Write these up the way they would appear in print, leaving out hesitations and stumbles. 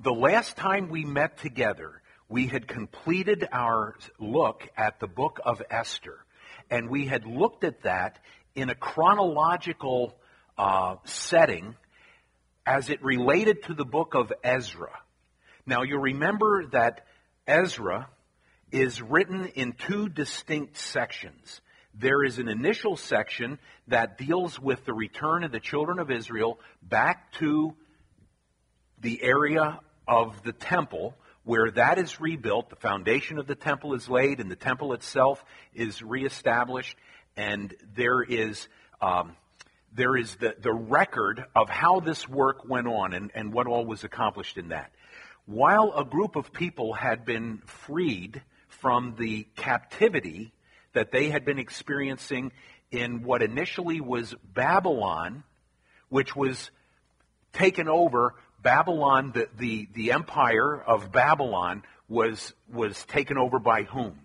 The last time we met together, we had completed our look at the book of Esther, and we had looked at that in a chronological setting as it related to the book of Ezra. Now, you remember that Ezra is written in two distinct sections. There is an initial section that deals with the return of the children of Israel back to the area of the temple, where that is rebuilt, the foundation of the temple is laid, and the temple itself is reestablished, and there is the record of how this work went on and what all was accomplished in that. While a group of people had been freed from the captivity that they had been experiencing in what initially was Babylon, which was taken over. Babylon, the empire of Babylon was taken over by whom?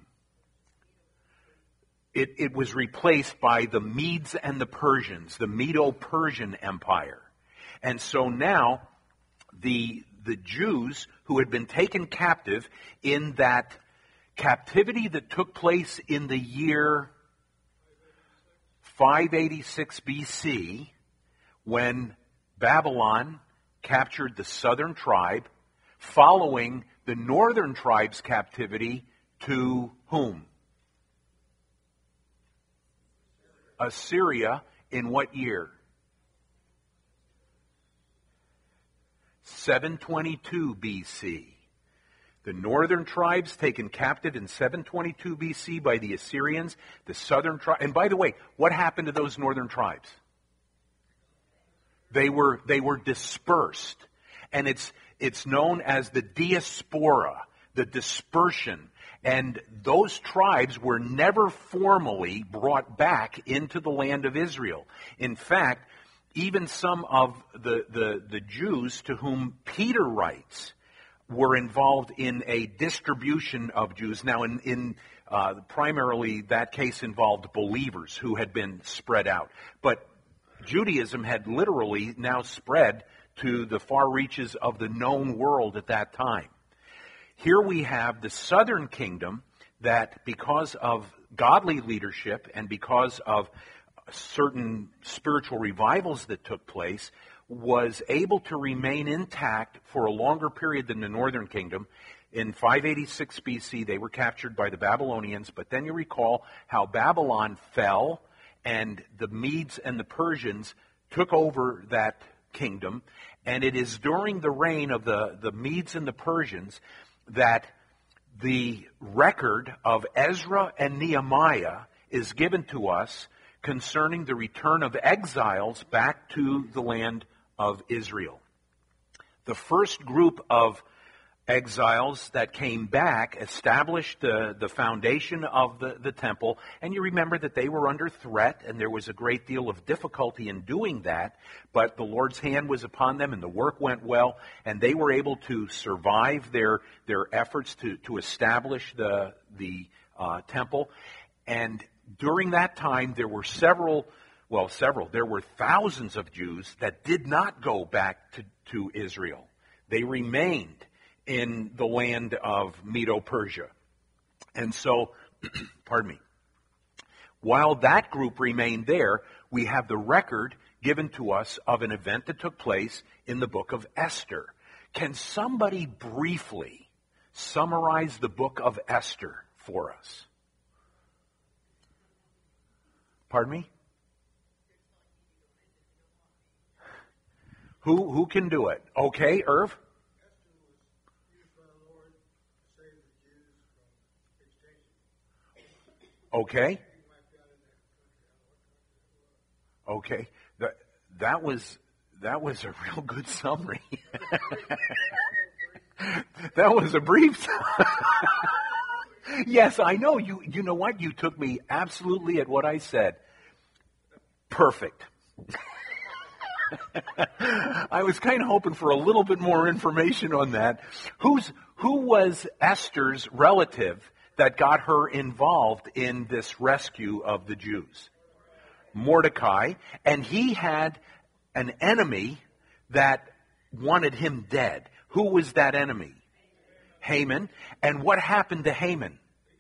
It was replaced by the Medes and the Persians, the Medo-Persian Empire. And so now the Jews who had been taken captive in that captivity that took place in the year 586 BC, when Babylon captured the southern tribe, following the northern tribe's captivity to whom? Assyria. In what year? 722 BC. The northern tribes taken captive in 722 BC by the Assyrians. The southern tribe. And by the way, what happened to those northern tribes? They were dispersed. And it's known as the diaspora, the dispersion. And those tribes were never formally brought back into the land of Israel. In fact, even some of the Jews to whom Peter writes were involved in a distribution of Jews. Now, in primarily that case involved believers who had been spread out. But Judaism had literally now spread to the far reaches of the known world at that time. Here we have the southern kingdom that, because of godly leadership and because of certain spiritual revivals that took place, was able to remain intact for a longer period than the northern kingdom. In 586 BC, they were captured by the Babylonians, but then you recall how Babylon fell and the Medes and the Persians took over that kingdom. And it is during the reign of the Medes and the Persians that the record of Ezra and Nehemiah is given to us concerning the return of exiles back to the land of Israel. The first group of exiles that came back established the foundation of the temple, and you remember that they were under threat, and there was a great deal of difficulty in doing that, but the Lord's hand was upon them, and the work went well, and they were able to survive their efforts to establish the temple. And during that time, there were there were thousands of Jews that did not go back to Israel. They remained in the land of Medo-Persia. And so, pardon me, while that group remained there, we have the record given to us of an event that took place in the book of Esther. Can somebody briefly summarize the book of Esther for us? Pardon me? Who can do it? Okay, Irv? Okay. Okay. That was a real good summary. That was a brief. Yes, I know. You know what? You took me absolutely at what I said. Perfect. I was kind of hoping for a little bit more information on that. Who was Esther's relative that got her involved in this rescue of the Jews? Mordecai. And he had an enemy that wanted him dead. Who was that enemy? Haman. And what happened to Haman?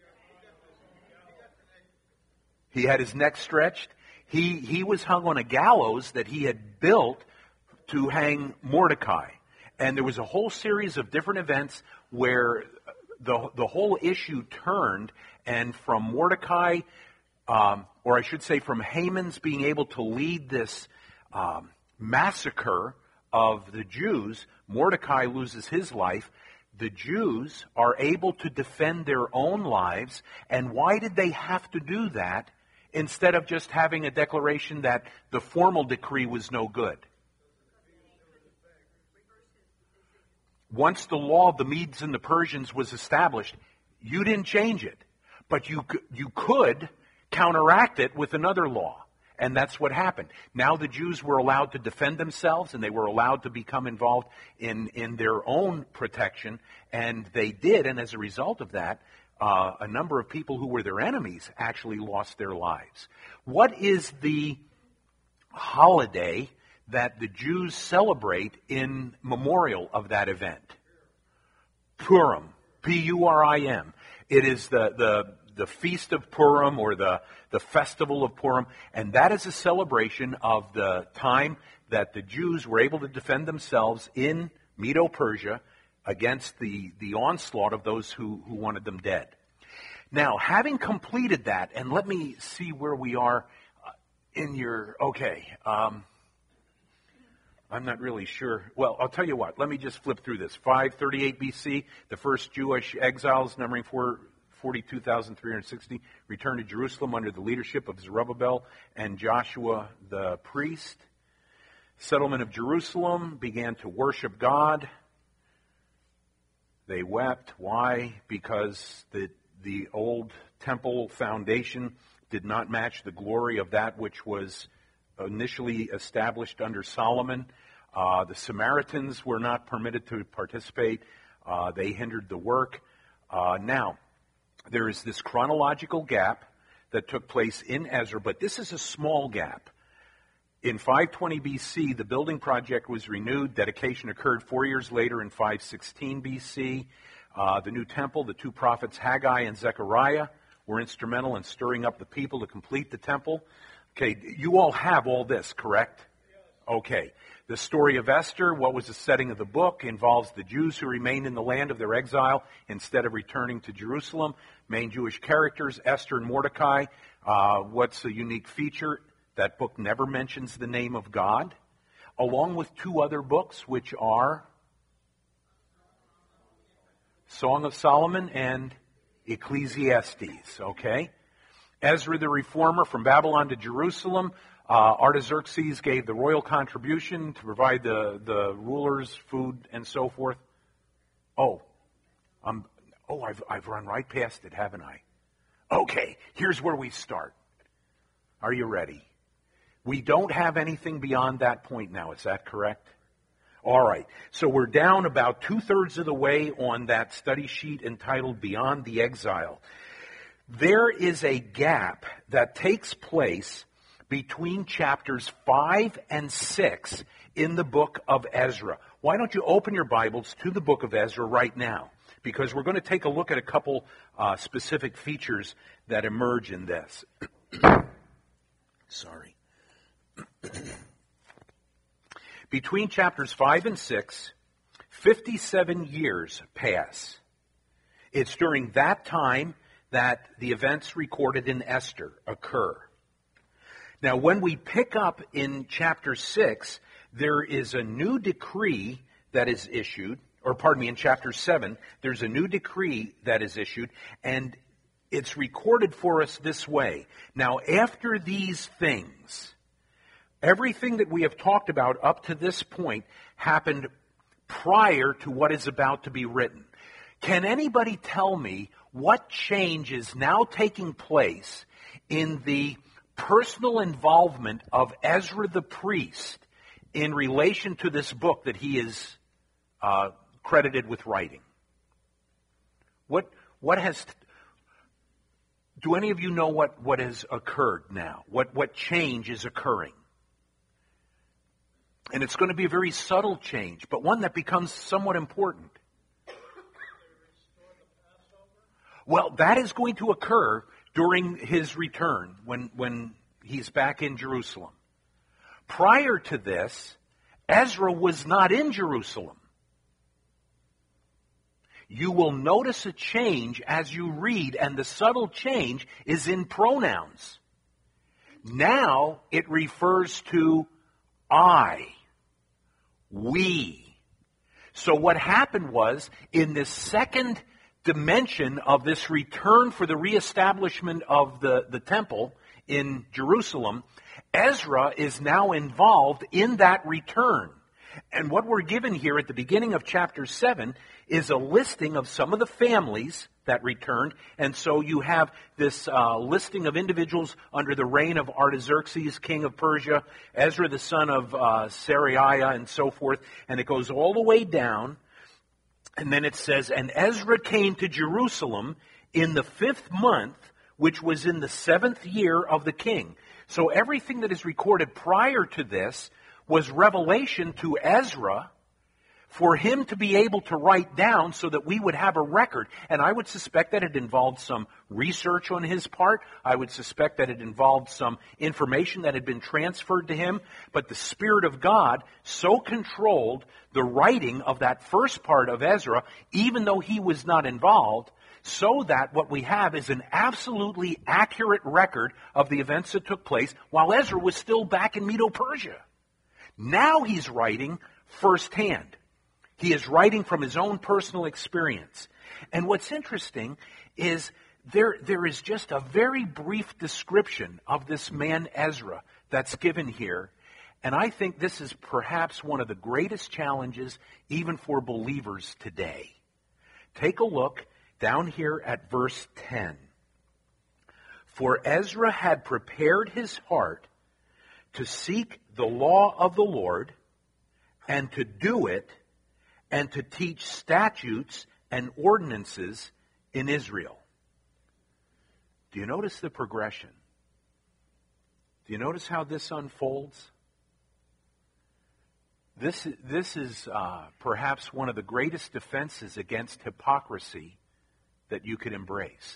He had his neck stretched. He was hung on a gallows that he had built to hang Mordecai. And there was a whole series of different events where the whole issue turned, and from Mordecai, or I should say from Haman's being able to lead this massacre of the Jews, Mordecai loses his life. The Jews are able to defend their own lives. And why did they have to do that instead of just having a declaration that the formal decree was no good? Once the law of the Medes and the Persians was established, you didn't change it. But you could counteract it with another law. And that's what happened. Now the Jews were allowed to defend themselves, and they were allowed to become involved in their own protection. And they did, and as a result of that, a number of people who were their enemies actually lost their lives. What is the holiday that the Jews celebrate in memorial of that event? Purim. P-U-R-I-M. It is the Feast of Purim, or the Festival of Purim, and that is a celebration of the time that the Jews were able to defend themselves in Medo-Persia against the onslaught of those who wanted them dead. Now, having completed that, and let me see where we are in your, okay, I'm not really sure. Well, I'll tell you what, let me just flip through this. 538 BC, the first Jewish exiles, numbering 42,360, returned to Jerusalem under the leadership of Zerubbabel and Joshua the priest. Settlement of Jerusalem, began to worship God. They wept. Why? Because the old temple foundation did not match the glory of that which was initially established under Solomon. The Samaritans were not permitted to participate. They hindered the work. Now, there is this chronological gap that took place in Ezra, but this is a small gap. In 520 BC, the building project was renewed. Dedication occurred 4 years later in 516 BC. The new temple, the two prophets Haggai and Zechariah were instrumental in stirring up the people to complete the temple. Okay, you all have all this, correct? Okay. The story of Esther, what was the setting of the book, involves the Jews who remained in the land of their exile instead of returning to Jerusalem. Main Jewish characters, Esther and Mordecai. What's the unique feature? That book never mentions the name of God, along with two other books, which are Song of Solomon and Ecclesiastes, okay? Ezra the Reformer, from Babylon to Jerusalem. Artaxerxes gave the royal contribution to provide the rulers food and so forth. I've run right past it, haven't I? Okay, here's where we start. Are you ready? We don't have anything beyond that point now, is that correct? All right, so we're down about 2/3 of the way on that study sheet entitled Beyond the Exile. There is a gap that takes place between chapters 5 and 6 in the book of Ezra. Why don't you open your Bibles to the book of Ezra right now? Because we're going to take a look at a couple specific features that emerge in this. Sorry. Between chapters 5 and 6, 57 years pass. It's during that time that the events recorded in Esther occur. Now, when we pick up in chapter 6, there is a new decree that is issued, in chapter 7, there's a new decree that is issued, and it's recorded for us this way. Now, after these things, everything that we have talked about up to this point happened prior to what is about to be written. Can anybody tell me what change is now taking place in the personal involvement of Ezra the priest in relation to this book that he is credited with writing? What has... Do any of you know what has occurred now? What change is occurring? And it's going to be a very subtle change, but one that becomes somewhat important. Well, that is going to occur during his return when he's back in Jerusalem. Prior to this, Ezra was not in Jerusalem. You will notice a change as you read, and the subtle change is in pronouns. Now it refers to I, we. So what happened was, in this second dimension of this return for the reestablishment of the temple in Jerusalem, Ezra is now involved in that return. And what we're given here at the beginning of chapter 7 is a listing of some of the families that returned. And so you have this listing of individuals under the reign of Artaxerxes, king of Persia, Ezra the son of Seraiah, and so forth. And it goes all the way down. And then it says, and Ezra came to Jerusalem in the 5th month, which was in the 7th year of the king. So everything that is recorded prior to this was revelation to Ezra for him to be able to write down so that we would have a record. And I would suspect that it involved some research on his part. I would suspect that it involved some information that had been transferred to him. But the Spirit of God so controlled the writing of that first part of Ezra, even though he was not involved, so that what we have is an absolutely accurate record of the events that took place while Ezra was still back in Medo-Persia. Now he's writing firsthand. He is writing from his own personal experience. And what's interesting is there is just a very brief description of this man Ezra that's given here. And I think this is perhaps one of the greatest challenges even for believers today. Take a look down here at verse 10. For Ezra had prepared his heart to seek the law of the Lord and to do it and to teach statutes and ordinances in Israel. Do you notice the progression? Do you notice how this unfolds? This is perhaps one of the greatest defenses against hypocrisy that you could embrace.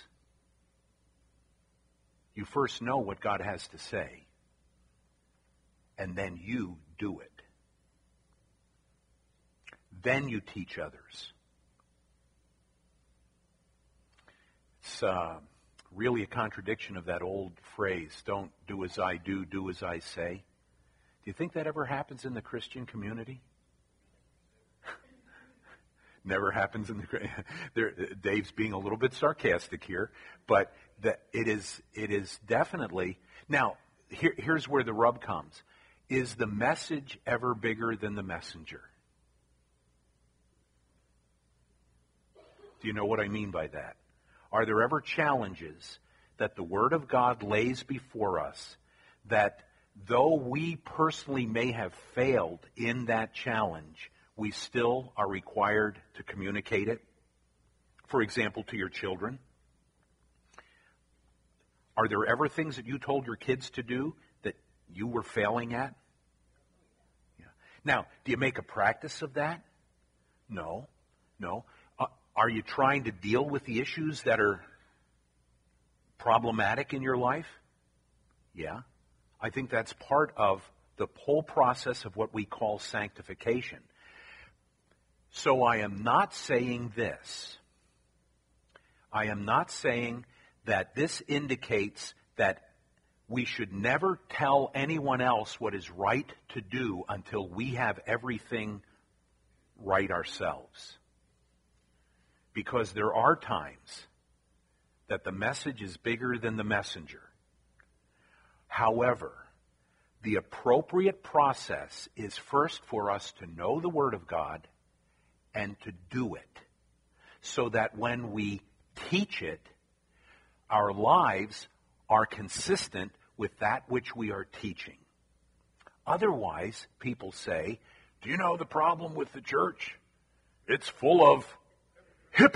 You first know what God has to say, and then you do it. Then you teach others. It's really a contradiction of that old phrase, don't do as I do, do as I say. Do you think that ever happens in the Christian community? Never happens in the... Dave's being a little bit sarcastic here, but it is definitely... Now, here's where the rub comes. Is the message ever bigger than the messenger? Do you know what I mean by that? Are there ever challenges that the Word of God lays before us that though we personally may have failed in that challenge, we still are required to communicate it? For example, to your children. Are there ever things that you told your kids to do that you were failing at? Yeah. Now, do you make a practice of that? No. Are you trying to deal with the issues that are problematic in your life? Yeah. I think that's part of the whole process of what we call sanctification. So I am not saying this. I am not saying that this indicates that we should never tell anyone else what is right to do until we have everything right ourselves. Because there are times that the message is bigger than the messenger. However, the appropriate process is first for us to know the Word of God and to do it, so that when we teach it, our lives are consistent with that which we are teaching. Otherwise, people say, do you know the problem with the church? It's full of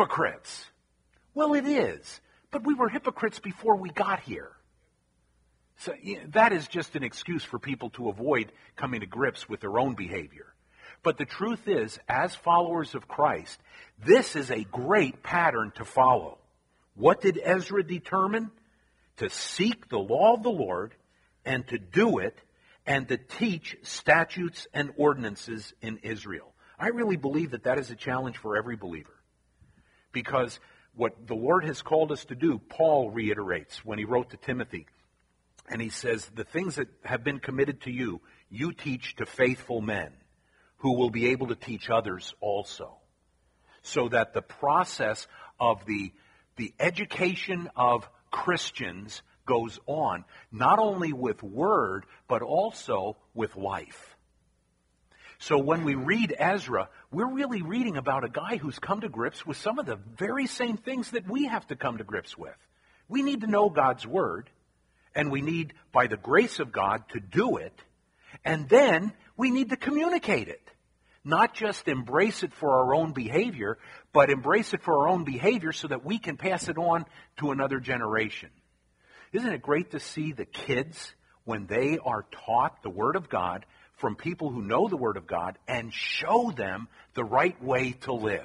hypocrites. Well, it is, but we were hypocrites before we got here. So that is just an excuse for people to avoid coming to grips with their own behavior. But the truth is, as followers of Christ, this is a great pattern to follow. What did Ezra determine? To seek the law of the Lord and to do it and to teach statutes and ordinances in Israel. I really believe that that is a challenge for every believer. Because what the Lord has called us to do, Paul reiterates when he wrote to Timothy. And he says, the things that have been committed to you, you teach to faithful men who will be able to teach others also. So that the process of the education of Christians goes on, not only with word, but also with life. So when we read Ezra, we're really reading about a guy who's come to grips with some of the very same things that we have to come to grips with. We need to know God's word, and we need, by the grace of God, to do it, and then we need to communicate it. Not just embrace it for our own behavior, but embrace it for our own behavior so that we can pass it on to another generation. Isn't it great to see the kids, when they are taught the Word of God from people who know the Word of God, and show them the right way to live?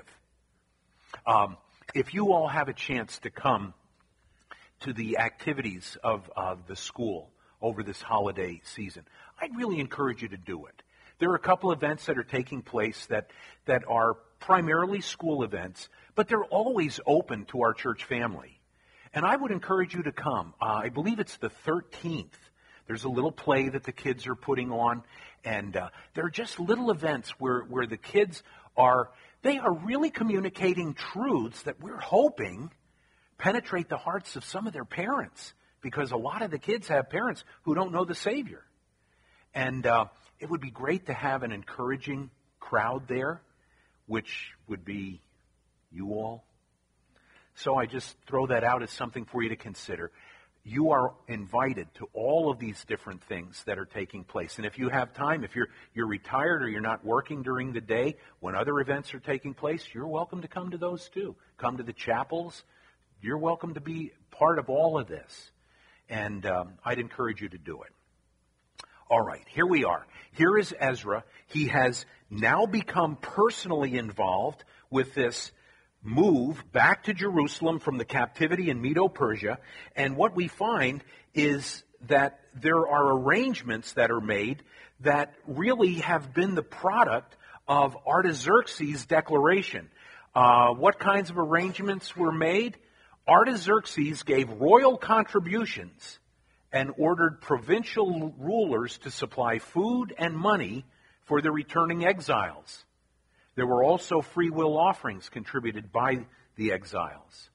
If you all have a chance to come to the activities of the school over this holiday season, I'd really encourage you to do it. There are a couple events that are taking place that are primarily school events, but they're always open to our church family. And I would encourage you to come. I believe it's the 13th. There's a little play that the kids are putting on, and they're just little events where the kids are really communicating truths that we're hoping penetrate the hearts of some of their parents, because a lot of the kids have parents who don't know the Savior. And it would be great to have an encouraging crowd there, which would be you all. So I just throw that out as something for you to consider. You are invited to all of these different things that are taking place. And if you have time, if you're retired or you're not working during the day, when other events are taking place, you're welcome to come to those too. Come to the chapels. You're welcome to be part of all of this. And I'd encourage you to do it. All right, here we are. Here is Ezra. He has now become personally involved with this move back to Jerusalem from the captivity in Medo-Persia. And what we find is that there are arrangements that are made that really have been the product of Artaxerxes' declaration. What kinds of arrangements were made? Artaxerxes gave royal contributions and ordered provincial rulers to supply food and money for the returning exiles. There were also free will offerings contributed by the exiles.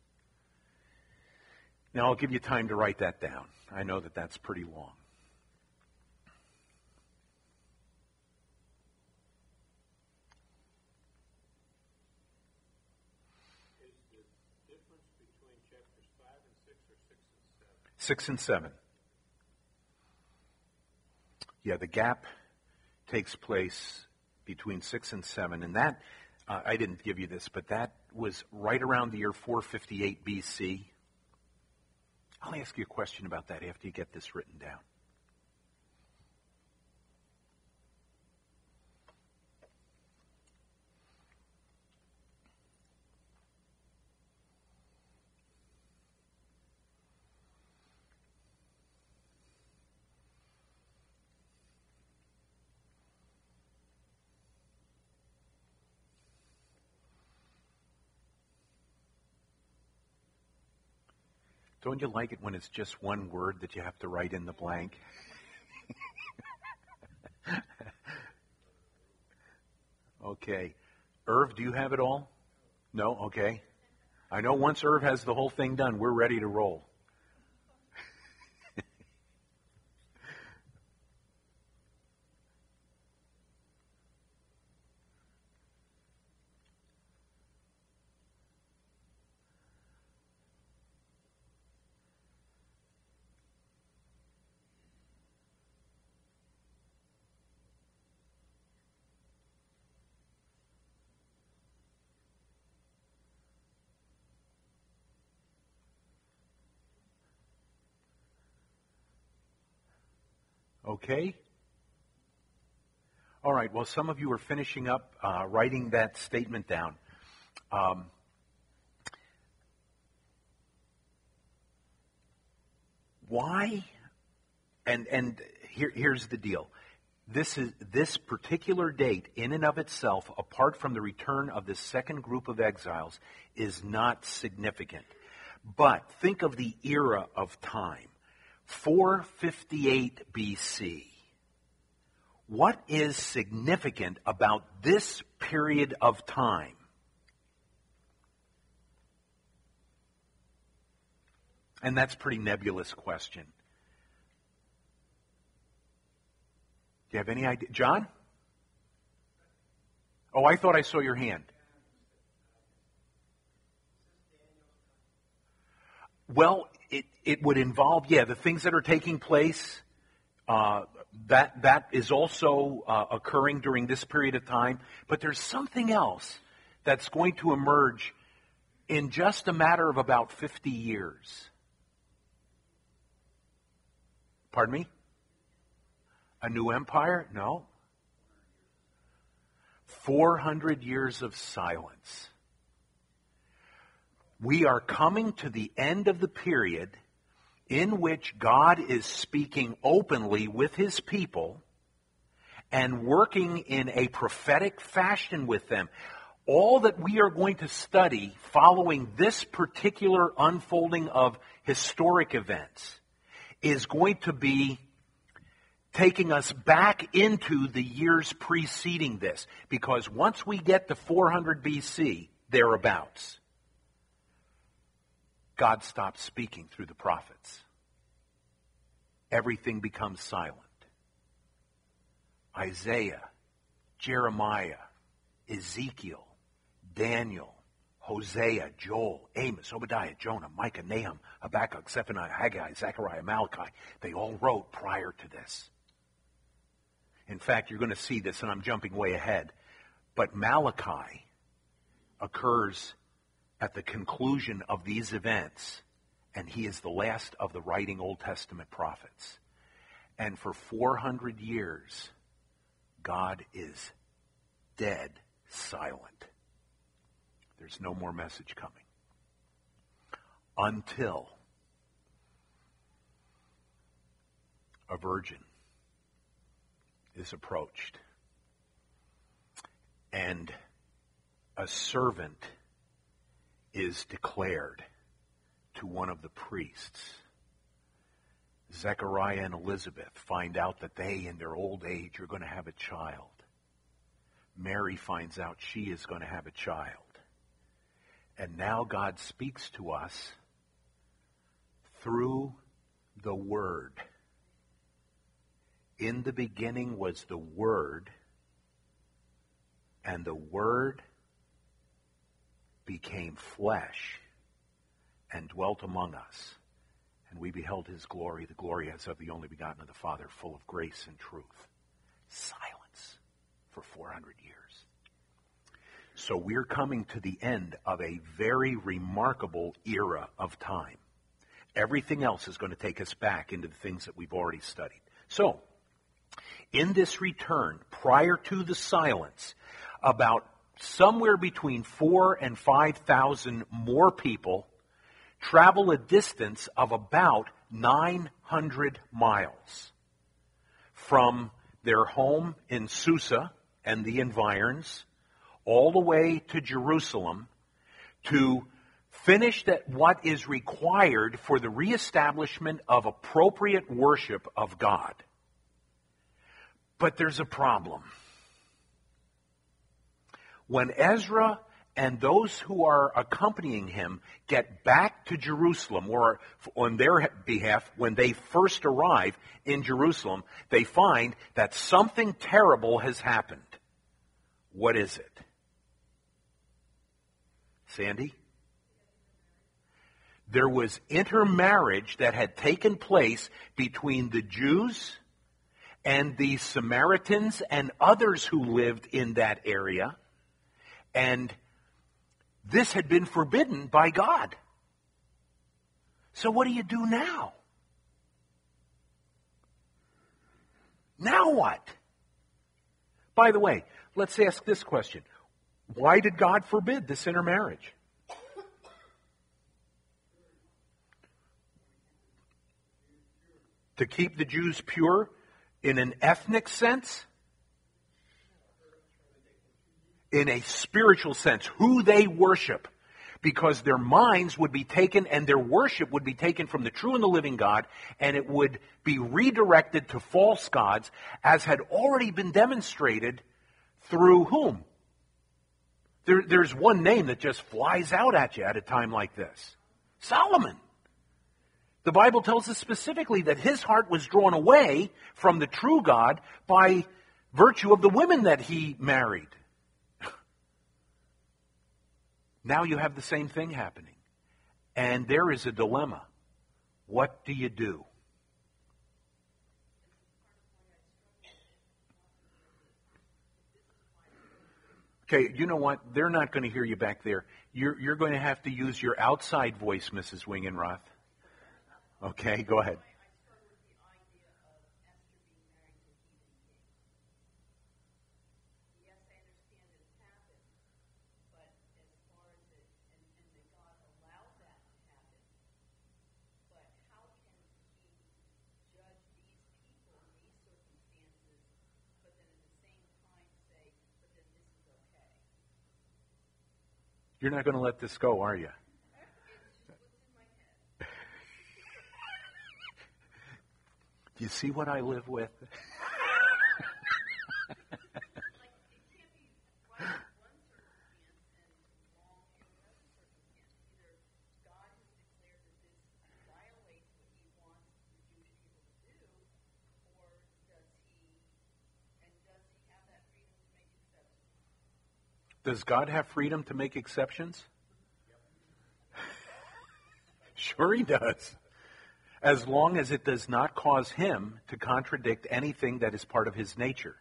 Now, I'll give you time to write that down. I know that that's pretty long. Is the difference between chapters 5 and 6 or 6 and 7? 6 and 7. Yeah, the gap takes place between 6 and 7. And that, I didn't give you this, but that was right around the year 458 BC. I'll ask you a question about that after you get this written down. Don't you like it when it's just one word that you have to write in the blank? Okay. Irv, do you have it all? No? Okay. I know once Irv has the whole thing done, we're ready to roll. Okay? All right, well, some of you are finishing up writing that statement down. Why? And here's the deal. This particular date, in and of itself, apart from the return of the second group of exiles, is not significant. But think of the era of time. 458 BC. What is significant about this period of time? And that's a pretty nebulous question. Do you have any idea? John? Oh, I thought I saw your hand. Well, it would involve, the things that are taking place. That is also occurring during this period of time. But there's something else that's going to emerge in just a matter of about 50 years. Pardon me? A new empire? No. 400 years of silence. We are coming to the end of the period in which God is speaking openly with his people and working in a prophetic fashion with them. All that we are going to study following this particular unfolding of historic events is going to be taking us back into the years preceding this. Because once we get to 400 BC, thereabouts, God stops speaking through the prophets. Everything becomes silent. Isaiah, Jeremiah, Ezekiel, Daniel, Hosea, Joel, Amos, Obadiah, Jonah, Micah, Nahum, Habakkuk, Zephaniah, Haggai, Zechariah, Malachi. They all wrote prior to this. In fact, you're going to see this, and I'm jumping way ahead, but Malachi occurs at the conclusion of these events, and he is the last of the writing Old Testament prophets. And for 400 years, God is dead silent. There's no more message coming. Until a virgin is approached and a servant is declared to one of the priests. Zechariah and Elizabeth find out that they, in their old age, are going to have a child. Mary finds out she is going to have a child. And now God speaks to us through the Word. In the beginning was the Word, and the Word became flesh and dwelt among us. And we beheld his glory, the glory as of the only begotten of the Father, full of grace and truth. Silence for 400 years. So we're coming to the end of a very remarkable era of time. Everything else is going to take us back into the things that we've already studied. So, in this return, prior to the silence, about somewhere between 4,000 and 5,000 more people travel a distance of about 900 miles from their home in Susa and the environs all the way to Jerusalem to finish what is required for the reestablishment of appropriate worship of God. But there's a problem. When Ezra and those who are accompanying him get back to Jerusalem, or on their behalf, when they first arrive in Jerusalem, they find that something terrible has happened. What is it? Sandy? There was intermarriage that had taken place between the Jews and the Samaritans and others who lived in that area. And this had been forbidden by God. So what do you do now? Now what? By the way, let's ask this question. Why did God forbid this intermarriage? To keep the Jews pure in an ethnic sense? In a spiritual sense, who they worship. Because their minds would be taken and their worship would be taken from the true and the living God, and it would be redirected to false gods, as had already been demonstrated through whom? There's one name that just flies out at you at a time like this. Solomon. The Bible tells us specifically that his heart was drawn away from the true God by virtue of the women that he married. Now you have the same thing happening. And there is a dilemma. What do you do? Okay, you know what? They're not going to hear you back there. You're going to have to use your outside voice, Mrs. Wingenroth. Okay, go ahead. You're not going to let this go, are you? Do you see what I live with? Does God have freedom to make exceptions? Sure he does. As long as it does not cause him to contradict anything that is part of his nature.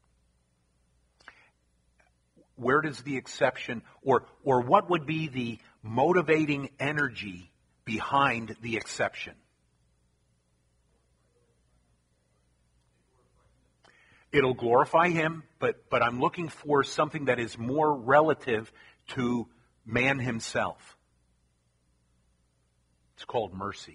Where does the exception, or what would be the motivating energy behind the exception? It'll glorify him, but I'm looking for something that is more relative to man himself. It's called mercy.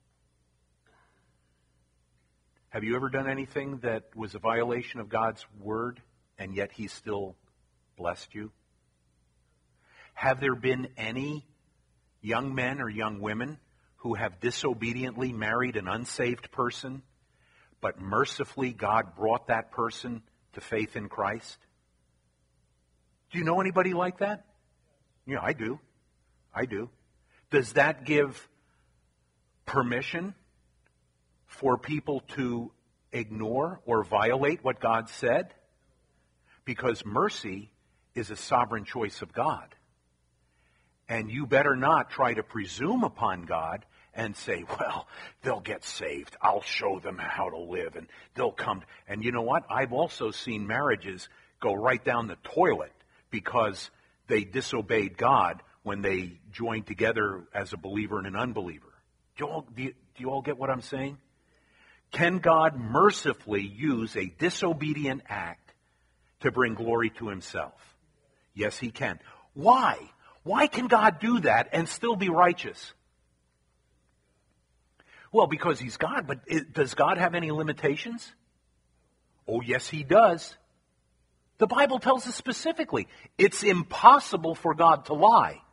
Have you ever done anything that was a violation of God's word, and yet he still blessed you? Have there been any young men or young women who have disobediently married an unsaved person, but mercifully God brought that person to faith in Christ? Do you know anybody like that? Yeah, I do. I do. Does that give permission for people to ignore or violate what God said? Because mercy is a sovereign choice of God. And you better not try to presume upon God and say, well, they'll get saved. I'll show them how to live and they'll come. And you know what? I've also seen marriages go right down the toilet because they disobeyed God when they joined together as a believer and an unbeliever. Do you all get what I'm saying? Can God mercifully use a disobedient act to bring glory to himself? Yes, he can. Why? Why can God do that and still be righteous? Well, because he's God, but does God have any limitations? Oh, yes, he does. The Bible tells us specifically, it's impossible for God to lie.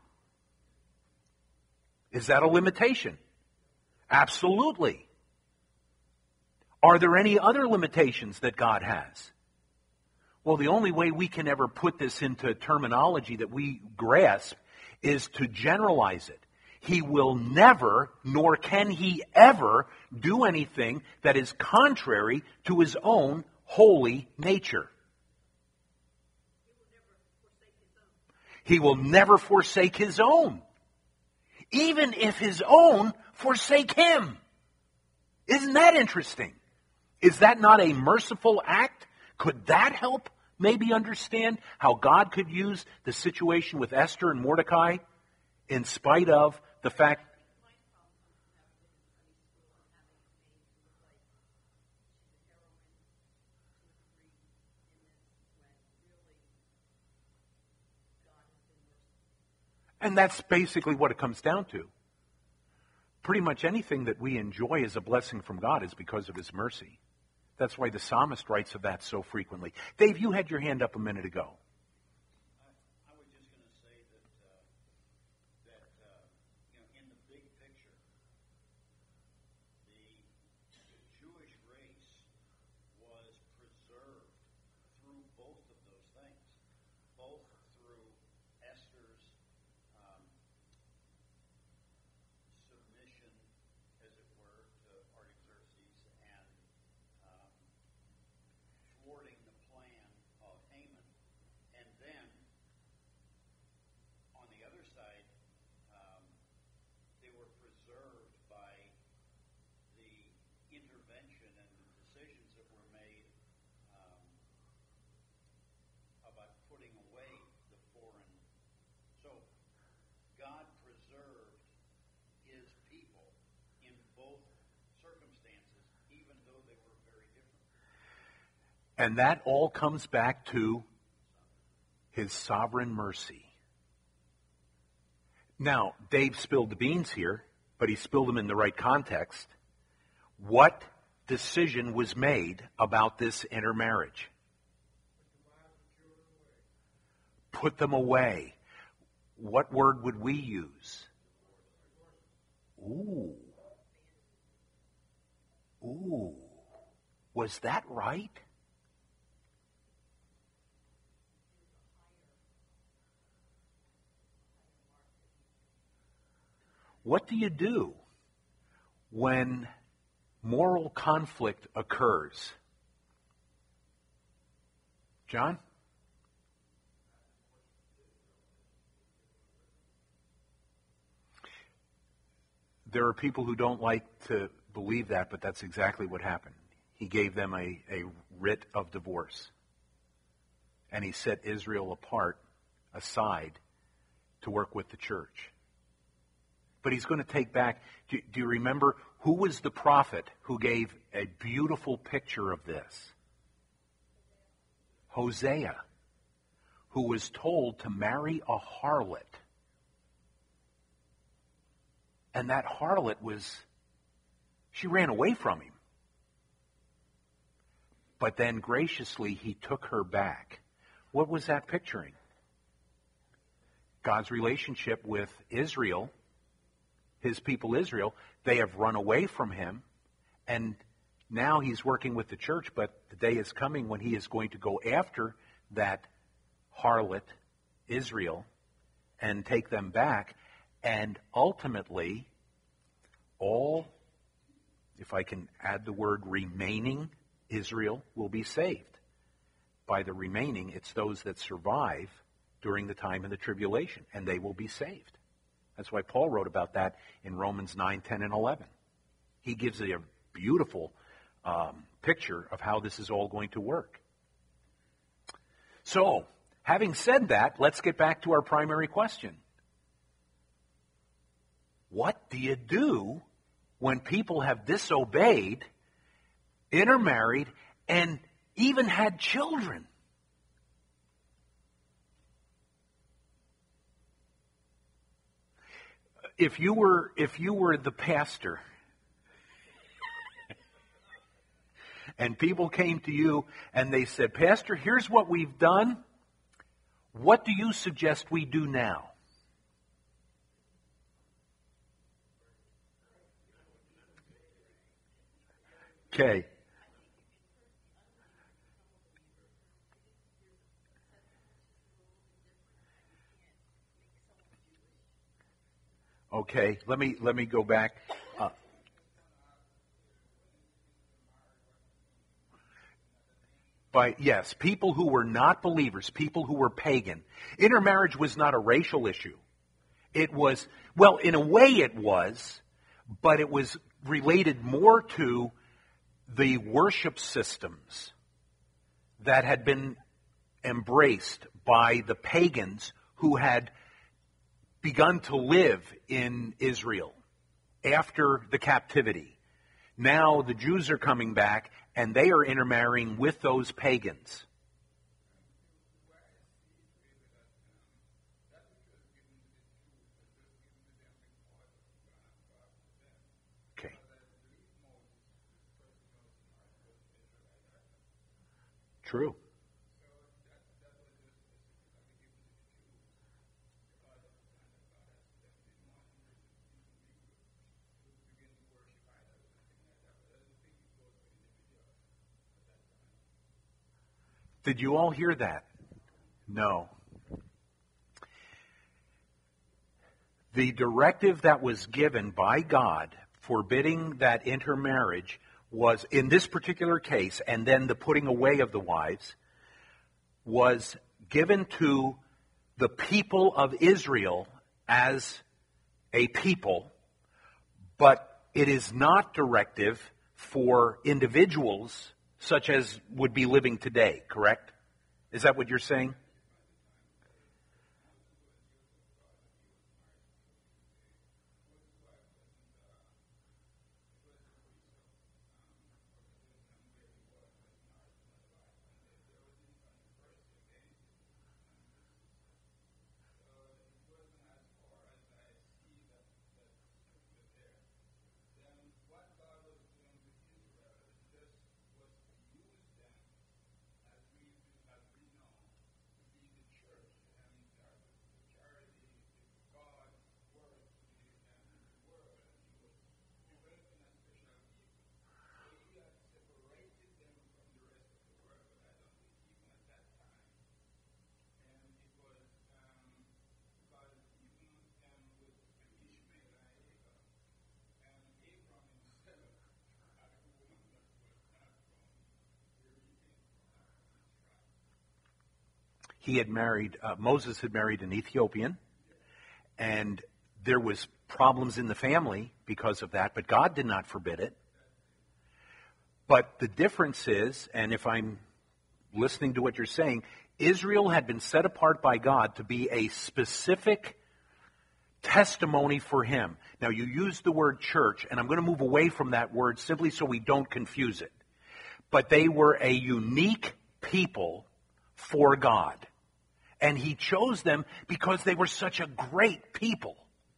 Is that a limitation? Absolutely. Are there any other limitations that God has? Well, the only way we can ever put this into terminology that we grasp is to generalize it. He will never, nor can he ever, do anything that is contrary to his own holy nature. He will never forsake his own. Even if his own forsake him. Isn't that interesting? Is that not a merciful act? Could that help maybe understand how God could use the situation with Esther and Mordecai in spite of the fact And that's basically what it comes down to. Pretty much anything that we enjoy as a blessing from God is because of His mercy. That's why the psalmist writes of that so frequently. Dave, you had your hand up a minute ago. I was just going to say that in the big picture, the Jewish race was preserved through both of those things, both through Esther's submission, as it were, to Artaxerxes and thwarting the plan of Haman. And then, on the other side, they were preserved by the intervention and the decisions that were made about putting away the foreign. So, God preserved His people in both circumstances, even though they were very different. And that all comes back to His sovereign mercy. Now, Dave spilled the beans here, but he spilled them in the right context. What decision was made about this intermarriage? Put them away. What word would we use? Ooh. Ooh. Was that right? What do you do when moral conflict occurs? John? There are people who don't like to believe that, but that's exactly what happened. He gave them a writ of divorce. And he set Israel aside, to work with the church. But he's going to take back, do you remember who was the prophet who gave a beautiful picture of this? Hosea, who was told to marry a harlot. And that harlot she ran away from him. But then graciously he took her back. What was that picturing? God's relationship with Israel, His people Israel. They have run away from Him, and now He's working with the church, but the day is coming when He is going to go after that harlot, Israel, and take them back, and ultimately, all, if I can add the word remaining, Israel will be saved. By the remaining, it's those that survive during the time of the tribulation, and they will be saved. That's why Paul wrote about that in Romans 9, 10, and 11. He gives a beautiful picture of how this is all going to work. So, having said that, let's get back to our primary question. What do you do when people have disobeyed, intermarried, and even had children? If you were the pastor and people came to you and they said, "Pastor, here's what we've done. What do you suggest we do now?" Okay. Okay, let me go back. Yes, people who were not believers, people who were pagan. Intermarriage was not a racial issue. It was, well, in a way it was, but it was related more to the worship systems that had been embraced by the pagans who had begun to live in Israel after the captivity. Now the Jews are coming back and they are intermarrying with those pagans. True. Did you all hear that? No. The directive that was given by God forbidding that intermarriage was, in this particular case, and then the putting away of the wives, was given to the people of Israel as a people, but it is not directive for individuals such as would be living today, correct? Is that what you're saying? He had married, Moses had married an Ethiopian, and there was problems in the family because of that, but God did not forbid it. But the difference is, and if I'm listening to what you're saying, Israel had been set apart by God to be a specific testimony for Him. Now, you use the word church, and I'm going to move away from that word simply so we don't confuse it. But they were a unique people for God. And He chose them because they were such a great people.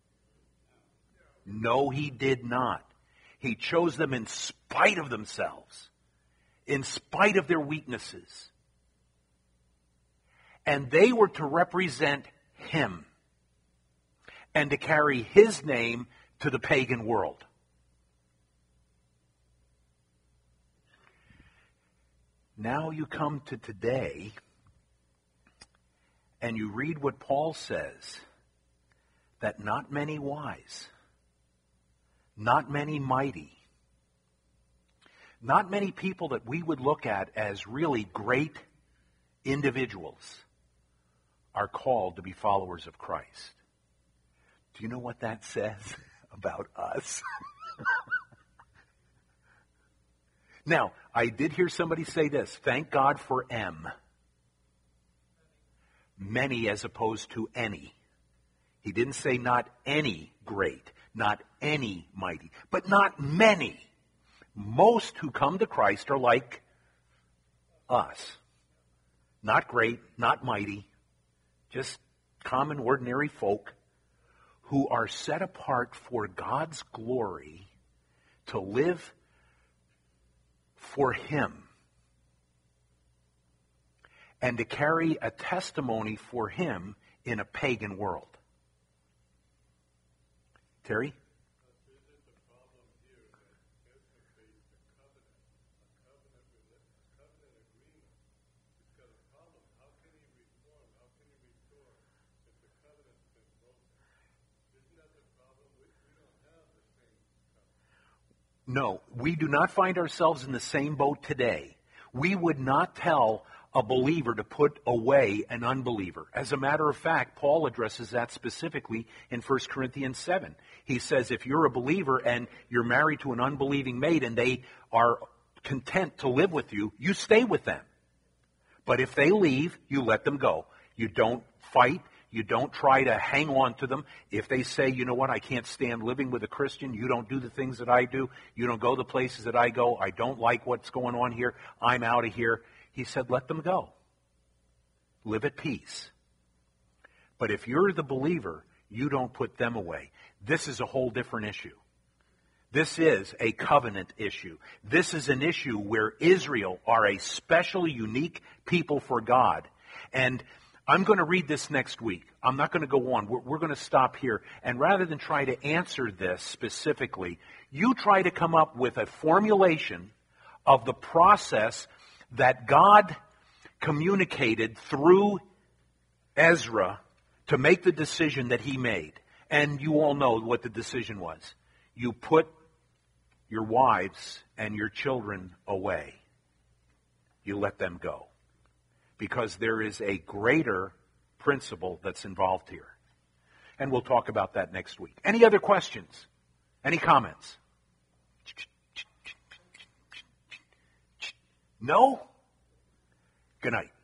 No, He did not. He chose them in spite of themselves, in spite of their weaknesses. And they were to represent Him and to carry His name to the pagan world. Now you come to today, and you read what Paul says, that not many wise, not many mighty, not many people that we would look at as really great individuals are called to be followers of Christ. Do you know what that says about us? Now, I did hear somebody say this, thank God for M. Many as opposed to any. He didn't say not any great, not any mighty, but not many. Most who come to Christ are like us. Not great, not mighty, just common, ordinary folk who are set apart for God's glory to live for Him and to carry a testimony for Him in a pagan world. Terry? Isn't the problem here that interface the covenant agreement? It's got a problem. How can he reform? How can he restore if the covenant's been broken? Isn't that the problem? We don't have the same covenant. No, we do not find ourselves in the same boat today. We would not tell a believer to put away an unbeliever. As a matter of fact, Paul addresses that specifically in 1 Corinthians 7. He says if you're a believer and you're married to an unbelieving maid and they are content to live with you, you stay with them. But if they leave, you let them go. You don't fight. You don't try to hang on to them. If they say, you know what, I can't stand living with a Christian, you don't do the things that I do, you don't go the places that I go, I don't like what's going on here, I'm out of here. He said, let them go. Live at peace. But if you're the believer, you don't put them away. This is a whole different issue. This is a covenant issue. This is an issue where Israel are a specially unique people for God. And I'm going to read this next week. I'm not going to go on. We're going to stop here. And rather than try to answer this specifically, you try to come up with a formulation of the process that God communicated through Ezra to make the decision that he made. And you all know what the decision was. You put your wives and your children away. You let them go. Because there is a greater principle that's involved here. And we'll talk about that next week. Any other questions? Any comments? No? Good night.